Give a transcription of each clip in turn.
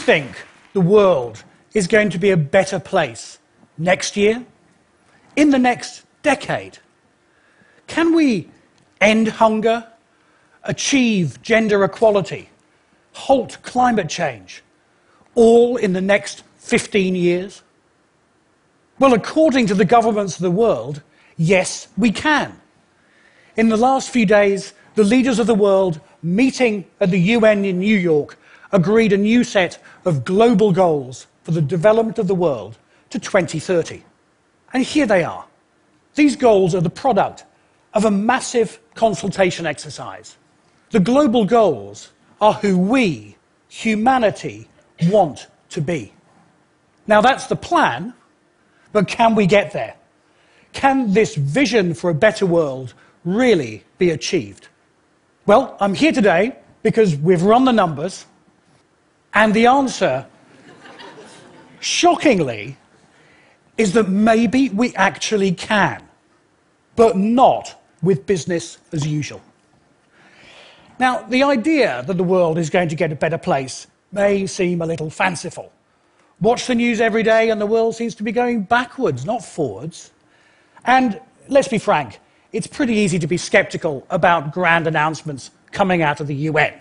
think the world is going to be a better place next year, in the next decade? Can we end hunger, achieve gender equality, halt climate change, all in the next 15 years? Well, according to the governments of the world, yes, we can. In the last few days, the leaders of the world meeting at the UN in New York agreed a new set of global goals for the development of the world to 2030. And here they are. These goals are the product of a massive consultation exercise. The global goals are who we, humanity, want to be. Now, that's the plan, but can we get there? Can this vision for a better world really be achieved? Well, I'm here today because we've run the numbers, and the answer, shockingly, is that maybe we actually can, but not with business as usual. Now, the idea that the world is going to get a better place may seem a little fanciful. Watch the news every day and the world seems to be going backwards, not forwards. And let's be frank, it's pretty easy to be skeptical about grand announcements coming out of the UN.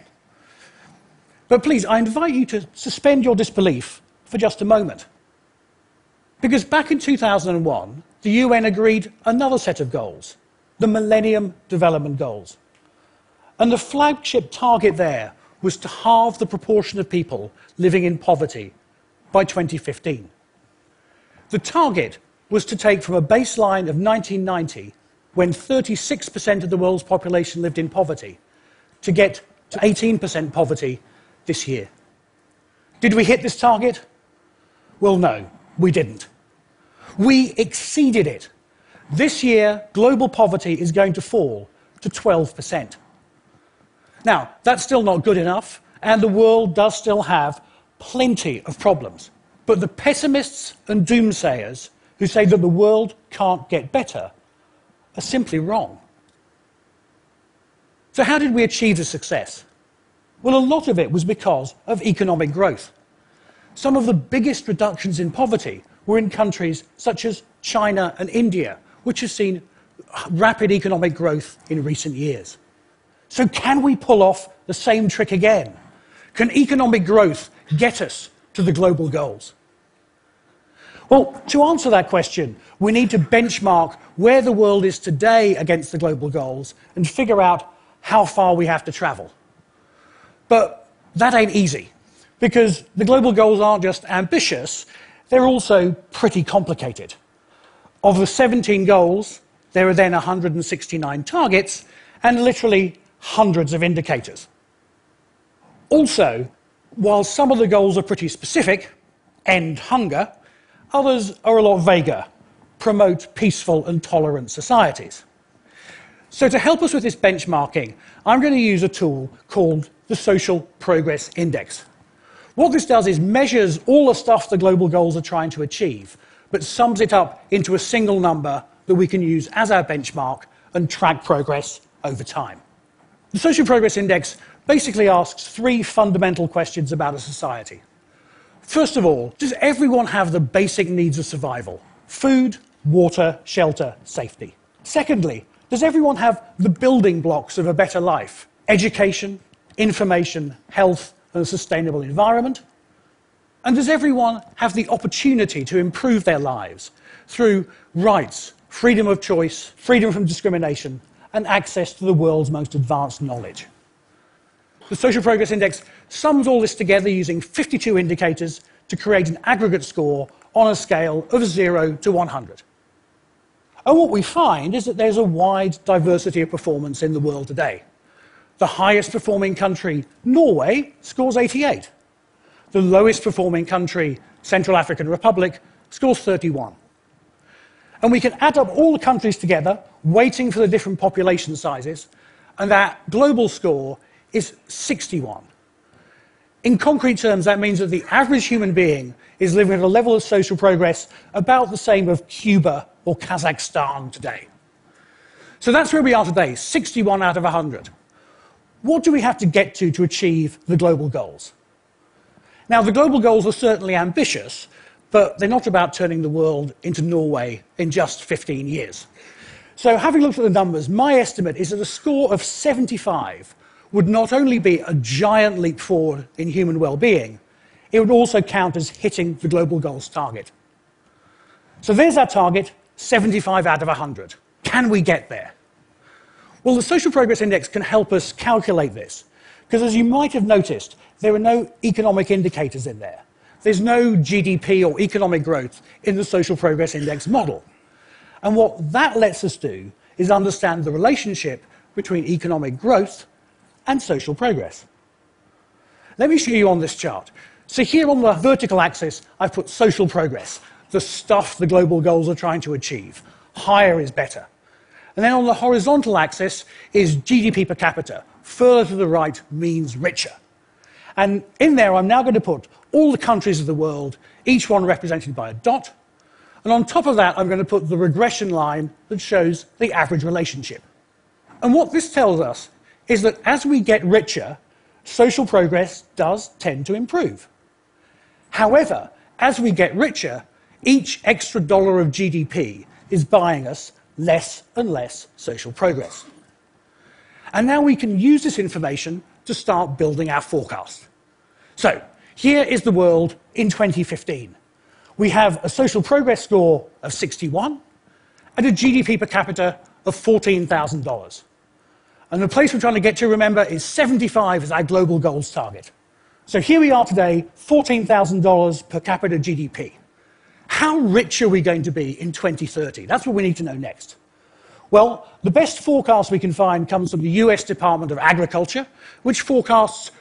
But please, I invite you to suspend your disbelief for just a moment. Because back in 2001, the UN agreed another set of goals, the Millennium Development Goals. And the flagship target there was to halve the proportion of people living in poverty by 2015. The target was to take from a baseline of 1990, when 36% of the world's population lived in poverty, to get to 18% poverty this year. Did we hit this target? Well, no, we didn't. We exceeded it. This year, global poverty is going to fall to 12%. Now, that's still not good enough, and the world does still have plenty of problems. But the pessimists and doomsayers who say that the world can't get better are simply wrong. So how did we achieve this success? Well, a lot of it was because of economic growth. Some of the biggest reductions in poverty were in countries such as China and India, which have seen rapid economic growth in recent years. So can we pull off the same trick again? Can economic growth get us to the global goals? Well, to answer that question, we need to benchmark where the world is today against the global goals and figure out how far we have to travel. But that ain't easy, because the global goals aren't just ambitious, they're also pretty complicated. Of the 17 goals, there are then 169 targets and literally hundreds of indicators. Also, while some of the goals are pretty specific, end hunger, others are a lot vaguer, promote peaceful and tolerant societies. So to help us with this benchmarking, I'm going to use a tool called the Social Progress Index. What this does is measures all the stuff the global goals are trying to achieve, but sums it up into a single number that we can use as our benchmark and track progress over time. The Social Progress Index basically asks three fundamental questions about a society. First of all, does everyone have the basic needs of survival? Food, water, shelter, safety. Secondly, does everyone have the building blocks of a better life? Education, information, health, and a sustainable environment? And does everyone have the opportunity to improve their lives through rights, freedom of choice, freedom from discrimination, and access to the world's most advanced knowledge? The Social Progress Index sums all this together using 52 indicators to create an aggregate score on a scale of 0 to 100. And what we find is that there's a wide diversity of performance in the world today. The highest performing country, Norway, scores 88. The lowest performing country, Central African Republic, scores 31. And we can add up all the countries together, weighting for the different population sizes, and that global score is 61. In concrete terms, that means that the average human being is living at a level of social progress about the same of Cuba or Kazakhstan today. So that's where we are today, 61 out of 100. What do we have to get to achieve the global goals? Now, the global goals are certainly ambitious, but they're not about turning the world into Norway in just 15 years. So having looked at the numbers, my estimate is that a score of 75 would not only be a giant leap forward in human well-being, it would also count as hitting the global goals target. So there's our target, 75 out of 100. Can we get there? Well, the Social Progress Index can help us calculate this, because as you might have noticed, there are no economic indicators in there. There's no GDP or economic growth in the Social Progress Index model. And what that lets us do is understand the relationship between economic growth and social progress. Let me show you on this chart. So here on the vertical axis, I've put social progress, the stuff the global goals are trying to achieve. Higher is better. And then on the horizontal axis is GDP per capita. Further to the right means richer. And in there, I'm now going to put all the countries of the world, each one represented by a dot. And on top of that, I'm going to put the regression line that shows the average relationship. And what this tells us is that as we get richer, social progress does tend to improve. However, as we get richer, each extra dollar of GDP is buying us less and less social progress. And now we can use this information to start building our forecast. So, here is the world in 2015. We have a social progress score of 61 and a GDP per capita of $14,000. And the place we're trying to get to, remember, is 75 as our global goals target. So here we are today, $14,000 per capita GDP. How rich are we going to be in 2030? That's what we need to know next. Well, the best forecast we can find comes from the US Department of Agriculture, which forecasts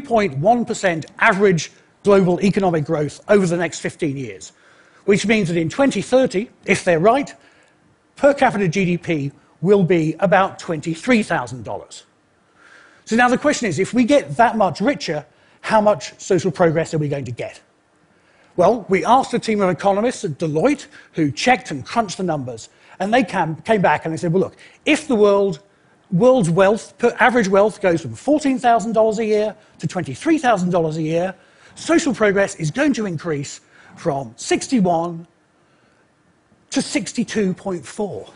3.1% average global economic growth over the next 15 years, which means that in 2030, if they're right, per capita GDP will be about $23,000. So now the question is, if we get that much richer, how much social progress are we going to get? Well, we asked a team of economists at Deloitte who checked and crunched the numbers, and they came back and they said, well, look, if the world's wealth, average wealth goes from $14,000 a year to $23,000 a year, social progress is going to increase from 61 to 62.4.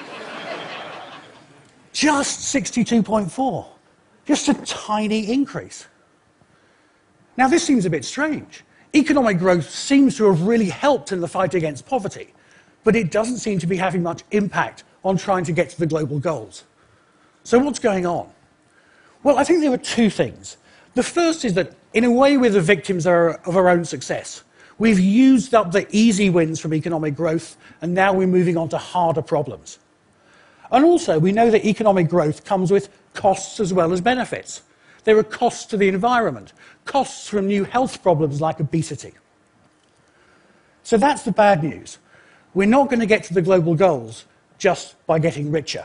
Just 62.4. Just a tiny increase. Now, this seems a bit strange. Economic growth seems to have really helped in the fight against poverty, but it doesn't seem to be having much impact on trying to get to the global goals. So what's going on? Well, I think there are two things. The first is that, in a way, we're the victims of our own success. We've used up the easy wins from economic growth, and now we're moving on to harder problems. And also, we know that economic growth comes with costs as well as benefits. There are costs to the environment, costs from new health problems like obesity. So that's the bad news. We're not going to get to the global goals just by getting richer.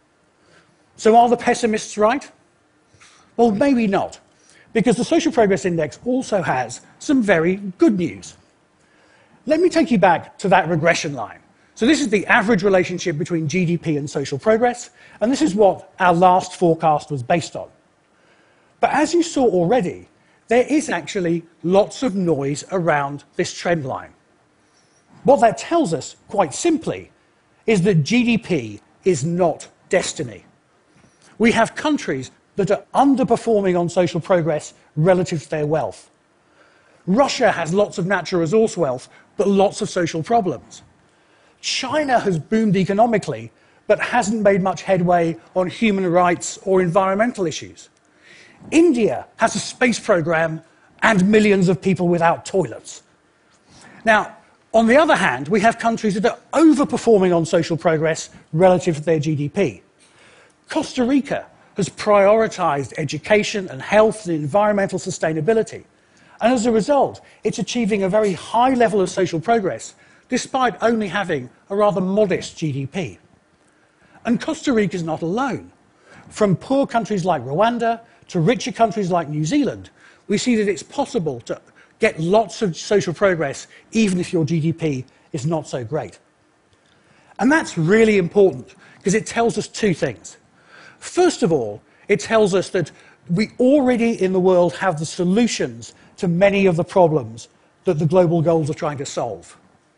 So are the pessimists right? Well, maybe not, because the Social Progress Index also has some very good news. Let me take you back to that regression line. So this is the average relationship between GDP and social progress, and this is what our last forecast was based on. But as you saw already, there is actually lots of noise around this trend line. What that tells us, quite simply, is that GDP is not destiny. We have countries that are underperforming on social progress relative to their wealth. Russia has lots of natural resource wealth, but lots of social problems. China has boomed economically, but hasn't made much headway on human rights or environmental issues. India has a space program and millions of people without toilets. Now, on the other hand, we have countries that are overperforming on social progress relative to their GDP. Costa Rica has prioritized education and health and environmental sustainability. And as a result, it's achieving a very high level of social progress, despite only having a rather modest GDP. And Costa Rica is not alone. From poor countries like Rwanda to richer countries like New Zealand, we see that it's possible to get lots of social progress even if your GDP is not so great. And that's really important because it tells us two things. First of all, it tells us that we already in the world have the solutions to many of the problems that the global goals are trying to solve.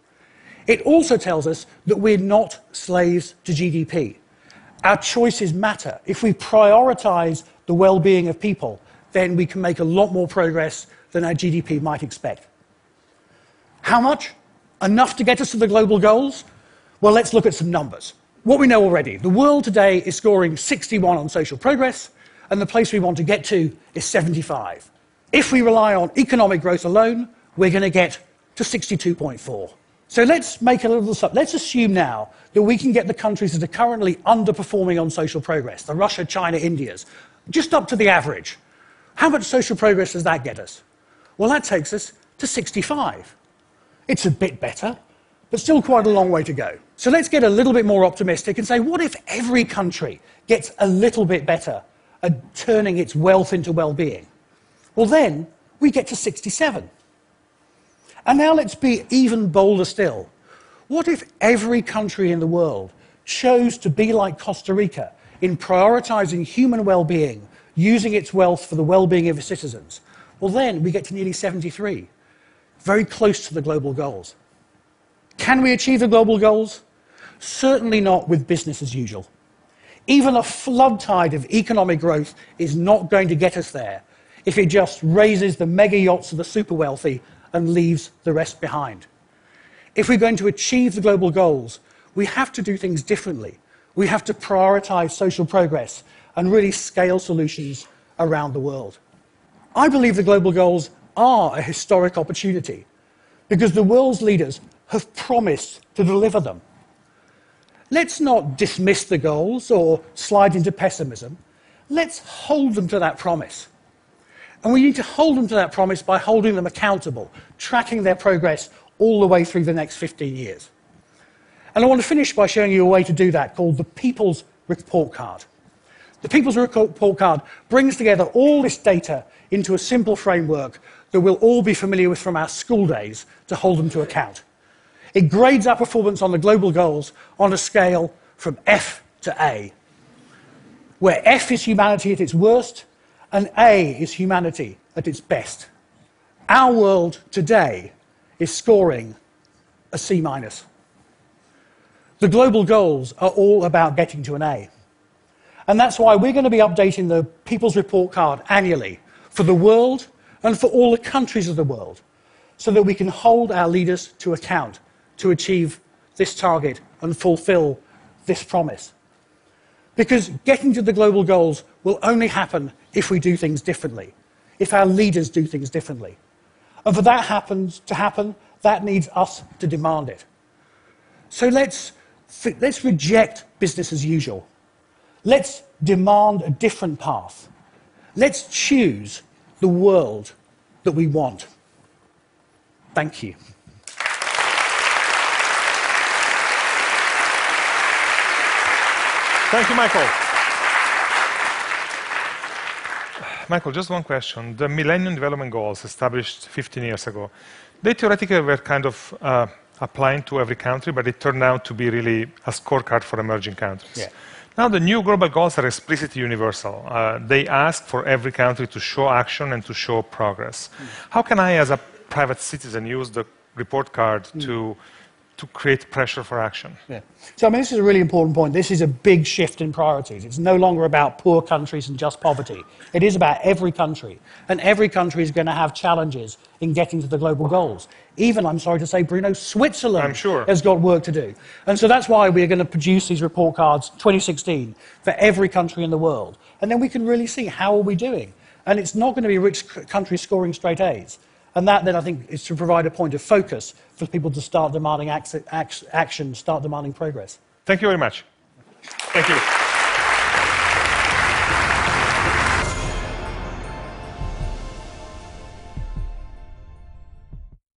It also tells us that we're not slaves to GDP. Our choices matter. If we prioritize the well-being of people, then we can make a lot more progress than our GDP might expect. How much? Enough to get us to the global goals? Well, let's look at some numbers. What we know already, the world today is scoring 61 on social progress, and the place we want to get to is 75. If we rely on economic growth alone, we're going to get to 62.4. So let's make a little sub. Let's assume now that we can get the countries that are currently underperforming on social progress, the Russia, China, Indias, just up to the average. How much social progress does that get us? Well, that takes us to 65. It's a bit better, but still quite a long way to go. So let's get a little bit more optimistic and say, what if every country gets a little bit better at turning its wealth into well-being? Well, then we get to 67. And now let's be even bolder still. What if every country in the world chose to be like Costa Rica in prioritizing human well-being, using its wealth for the well-being of its citizens? Well, then we get to nearly 73, very close to the global goals. Can we achieve the global goals? Certainly not with business as usual. Even a flood tide of economic growth is not going to get us there if it just raises the mega yachts of the super wealthy and leaves the rest behind. If we're going to achieve the global goals, we have to do things differently. We have to prioritize social progress and really scale solutions around the world. I believe the global goals are a historic opportunity because the world's leaders have promised to deliver them. Let's not dismiss the goals or slide into pessimism. Let's hold them to that promise. And we need to hold them to that promise by holding them accountable, tracking their progress all the way through the next 15 years. And I want to finish by showing you a way to do that called the People's Report Card. The People's Report Card brings together all this data into a simple framework that we'll all be familiar with from our school days to hold them to account. It grades our performance on the global goals on a scale from F to A, where F is humanity at its worst and A is humanity at its best. Our world today is scoring a C-. The global goals are all about getting to an A. And that's why we're going to be updating the People's Report Card annually for the world and for all the countries of the world, so that we can hold our leaders to account to achieve this target and fulfill this promise. Because getting to the global goals will only happen if we do things differently, if our leaders do things differently. And for that to happen, that needs us to demand it. So let's reject business as usual. Let's demand a different path. Let's choose the world that we want. Thank you. Thank you, Michael. Michael, just one question. The Millennium Development Goals established 15 years ago, they theoretically were kind of applying to every country, but it turned out to be really a scorecard for emerging countries. Yeah. Now the new global goals are explicitly universal. They ask for every country to show action and to show progress. How can I, as a private citizen, use the report card to create pressure for action? Yeah. So, I mean, this is a really important point. This is a big shift in priorities. It's no longer about poor countries and just poverty. It is about every country. And every country is going to have challenges in getting to the global goals. Even, I'm sorry to say, Bruno, Switzerland has got work to do. And so that's why we're going to produce these report cards 2016 for every country in the world. And then we can really see how are we doing. And it's not going to be rich countries scoring straight A's. And that, then, I think, is to provide a point of focus for people to start demanding action, start demanding progress. Thank you very much. Thank you.